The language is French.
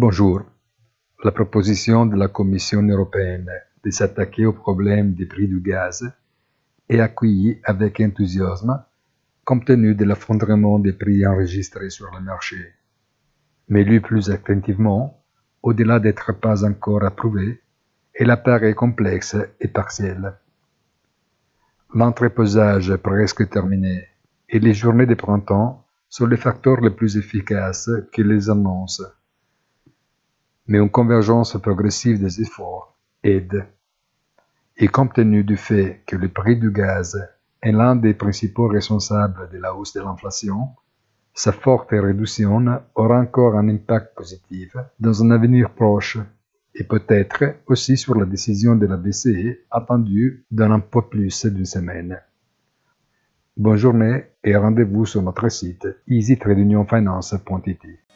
Bonjour. La proposition de la Commission européenne de s'attaquer au problème des prix du gaz est accueillie avec enthousiasme compte tenu de l'effondrement des prix enregistrés sur le marché. Mais lu plus attentivement, au-delà d'être pas encore approuvé, elle apparaît complexe et partielle. L'entreposage est presque terminé et les journées de printemps sont les facteurs les plus efficaces qui les annoncent. Mais une convergence progressive des efforts aide. Et compte tenu du fait que le prix du gaz est l'un des principaux responsables de la hausse de l'inflation, sa forte réduction aura encore un impact positif dans un avenir proche et peut-être aussi sur la décision de la BCE attendue dans un peu plus d'une semaine. Bonne journée et rendez-vous sur notre site easytradeunionfinance.it.